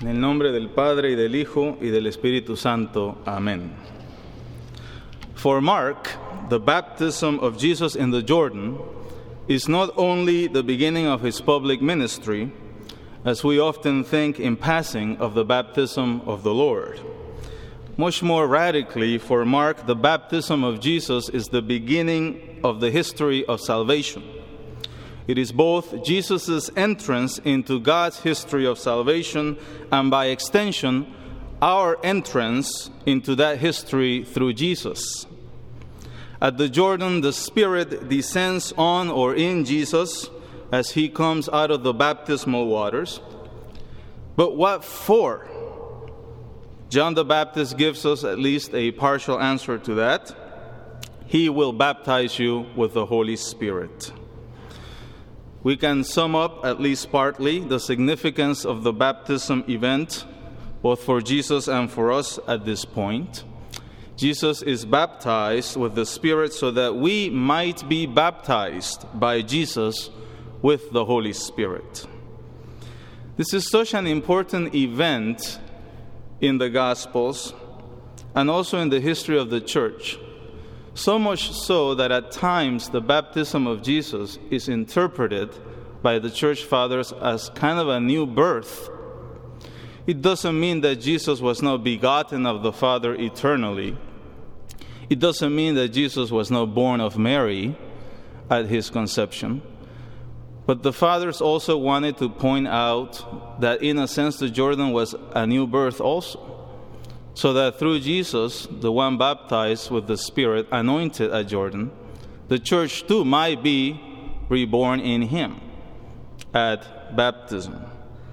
En el nombre del Padre, y del Hijo, y del Espíritu Santo. Amén. For Mark, the baptism of Jesus in the Jordan is not only the beginning of his public ministry, as we often think in passing of the baptism of the Lord. Much more radically, for Mark, the baptism of Jesus is the beginning of the history of salvation. It is both Jesus' entrance into God's history of salvation and, by extension, our entrance into that history through Jesus. At the Jordan, the Spirit descends on or in Jesus as he comes out of the baptismal waters. But what for? John the Baptist gives us at least a partial answer to that. He will baptize you with the Holy Spirit. We can sum up, at least partly, the significance of the baptism event, both for Jesus and for us at this point. Jesus is baptized with the Spirit so that we might be baptized by Jesus with the Holy Spirit. This is such an important event in the Gospels and also in the history of the church. So much so that at times the baptism of Jesus is interpreted by the church fathers as kind of a new birth. It doesn't mean that Jesus was not begotten of the Father eternally. It doesn't mean that Jesus was not born of Mary at his conception. But the fathers also wanted to point out that in a sense the Jordan was a new birth also. So that through Jesus, the one baptized with the Spirit, anointed at Jordan, the church too might be reborn in him at baptism.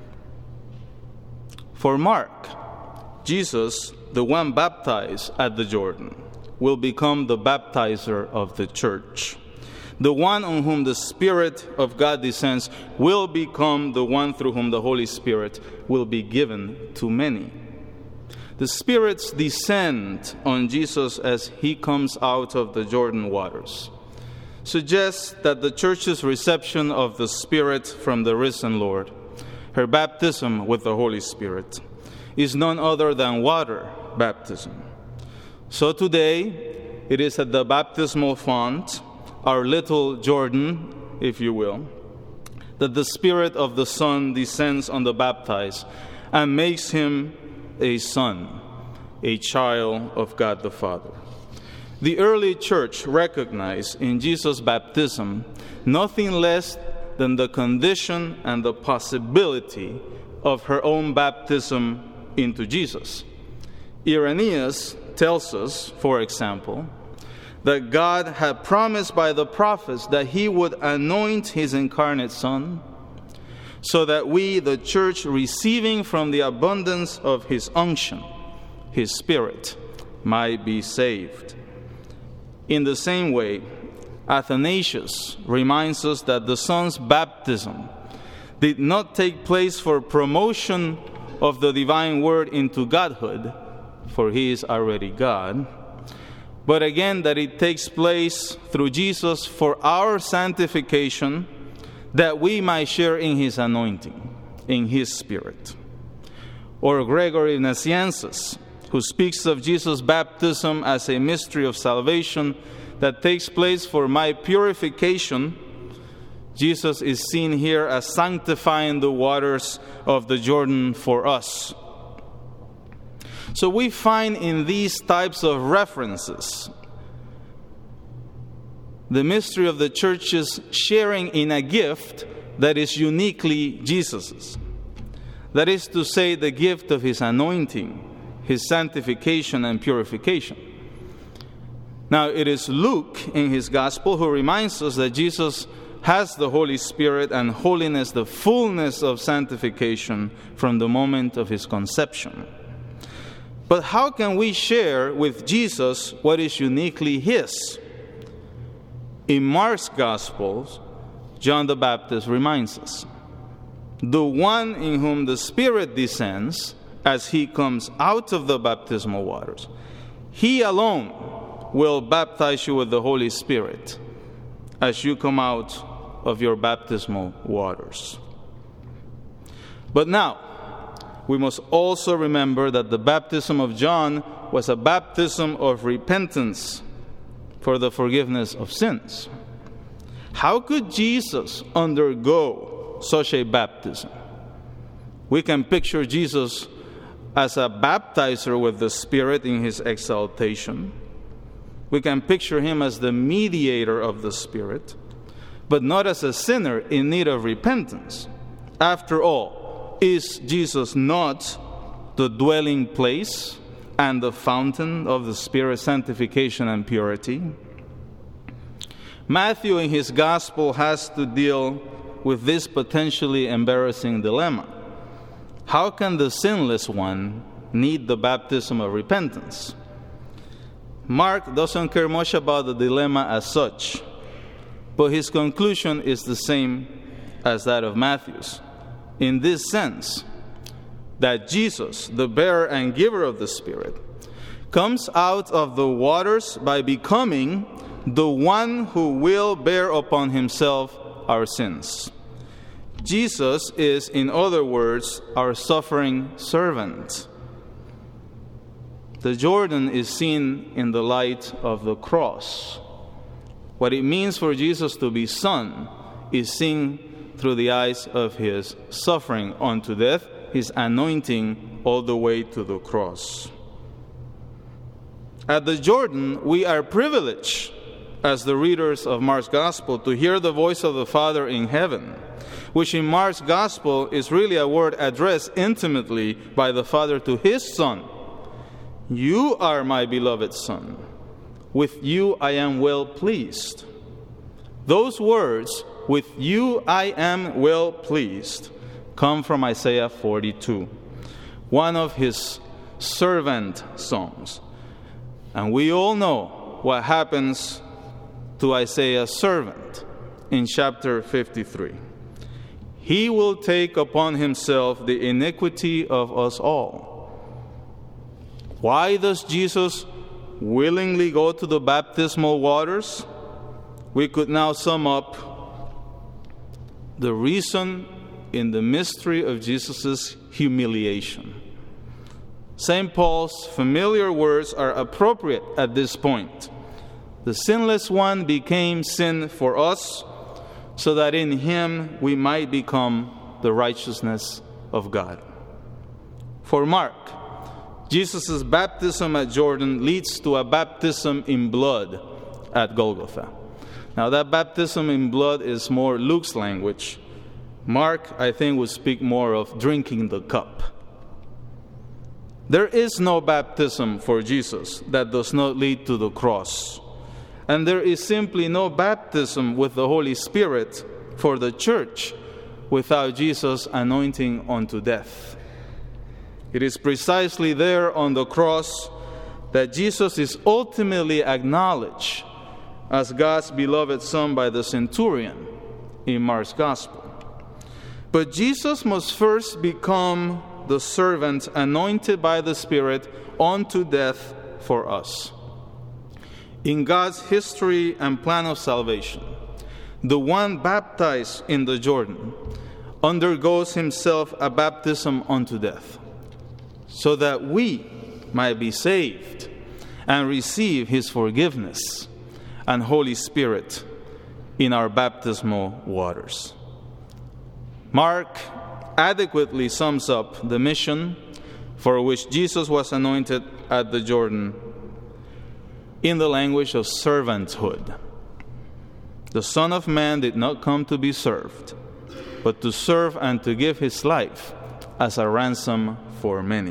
For Mark, Jesus, the one baptized at the Jordan, will become the baptizer of the church. The one on whom the Spirit of God descends will become the one through whom the Holy Spirit will be given to many. The Spirit's descent on Jesus as he comes out of the Jordan waters suggests that the church's reception of the Spirit from the risen Lord, her baptism with the Holy Spirit, is none other than water baptism. So today, it is at the baptismal font, our little Jordan, if you will, that the Spirit of the Son descends on the baptized and makes him a son, a child of God the Father. The early church recognized in Jesus' baptism nothing less than the condition and the possibility of her own baptism into Jesus. Irenaeus tells us, for example, that God had promised by the prophets that he would anoint his incarnate Son, so that we, the church, receiving from the abundance of his unction, his Spirit, might be saved. In the same way, Athanasius reminds us that the Son's baptism did not take place for promotion of the divine word into godhood, for he is already God, but again that it takes place through Jesus for our sanctification, that we might share in his anointing, in his Spirit. Or Gregory Nazianzus, who speaks of Jesus' baptism as a mystery of salvation that takes place for my purification. Jesus is seen here as sanctifying the waters of the Jordan for us. So we find in these types of references the mystery of the church's sharing in a gift that is uniquely Jesus's. That is to say, the gift of his anointing, his sanctification and purification. Now, it is Luke in his gospel who reminds us that Jesus has the Holy Spirit and holiness, the fullness of sanctification from the moment of his conception. But how can we share with Jesus what is uniquely his? In Mark's Gospels, John the Baptist reminds us, the one in whom the Spirit descends as he comes out of the baptismal waters, he alone will baptize you with the Holy Spirit as you come out of your baptismal waters. But now, we must also remember that the baptism of John was a baptism of repentance for the forgiveness of sins. How could Jesus undergo such a baptism? We can picture Jesus as a baptizer with the Spirit in his exaltation. We can picture him as the mediator of the Spirit, but not as a sinner in need of repentance. After all, is Jesus not the dwelling place and the fountain of the Spirit's sanctification and purity? Matthew in his gospel has to deal with this potentially embarrassing dilemma. How can the sinless one need the baptism of repentance? Mark doesn't care much about the dilemma as such, but his conclusion is the same as that of Matthew's, in this sense, that Jesus, the bearer and giver of the Spirit, comes out of the waters by becoming the one who will bear upon himself our sins. Jesus is, in other words, our suffering servant. The Jordan is seen in the light of the cross. What it means for Jesus to be Son is seen through the eyes of his suffering unto death, his anointing all the way to the cross. At the Jordan, we are privileged, as the readers of Mark's Gospel, to hear the voice of the Father in heaven, which in Mark's Gospel is really a word addressed intimately by the Father to his Son. You are my beloved Son. With you I am well pleased. Those words, with you I am well pleased, come from Isaiah 42, one of his servant songs. And we all know what happens to Isaiah's servant in chapter 53. He will take upon himself the iniquity of us all. Why does Jesus willingly go to the baptismal waters? We could now sum up the reason in the mystery of Jesus' humiliation. St. Paul's familiar words are appropriate at this point. The sinless one became sin for us, so that in him we might become the righteousness of God. For Mark, Jesus' baptism at Jordan leads to a baptism in blood at Golgotha. Now that baptism in blood is more Luke's language. Mark, I think, would speak more of drinking the cup. There is no baptism for Jesus that does not lead to the cross. And there is simply no baptism with the Holy Spirit for the church without Jesus' anointing unto death. It is precisely there on the cross that Jesus is ultimately acknowledged as God's beloved Son by the centurion in Mark's Gospel. But Jesus must first become the servant anointed by the Spirit unto death for us. In God's history and plan of salvation, the one baptized in the Jordan undergoes himself a baptism unto death, so that we might be saved and receive his forgiveness and Holy Spirit in our baptismal waters. Mark adequately sums up the mission for which Jesus was anointed at the Jordan in the language of servanthood. The Son of Man did not come to be served, but to serve and to give his life as a ransom for many.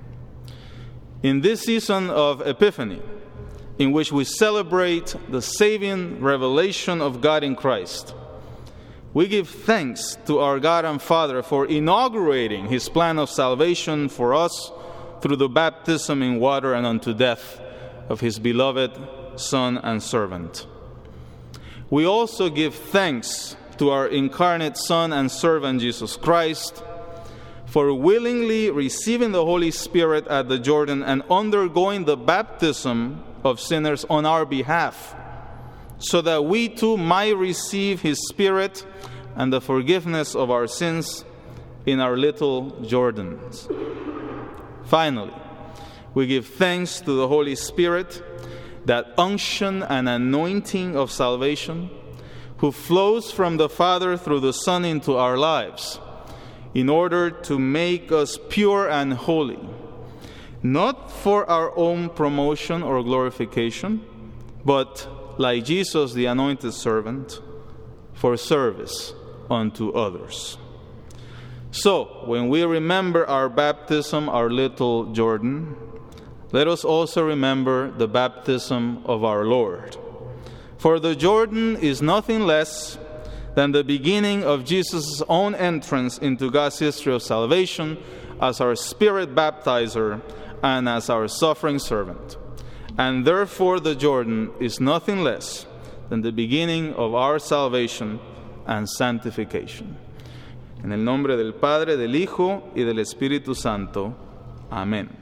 In this season of Epiphany, in which we celebrate the saving revelation of God in Christ, we give thanks to our God and Father for inaugurating his plan of salvation for us through the baptism in water and unto death of his beloved Son and servant. We also give thanks to our incarnate Son and servant Jesus Christ for willingly receiving the Holy Spirit at the Jordan and undergoing the baptism of sinners on our behalf, so that we too might receive his Spirit and the forgiveness of our sins in our little Jordans. Finally, we give thanks to the Holy Spirit, that unction and anointing of salvation, who flows from the Father through the Son into our lives, in order to make us pure and holy, not for our own promotion or glorification, but, like Jesus, the anointed servant, for service unto others. So, when we remember our baptism, our little Jordan, let us also remember the baptism of our Lord. For the Jordan is nothing less than the beginning of Jesus' own entrance into God's history of salvation as our Spirit baptizer and as our suffering servant. And therefore the Jordan is nothing less than the beginning of our salvation and sanctification. En el nombre del Padre, del Hijo y del Espíritu Santo. Amén.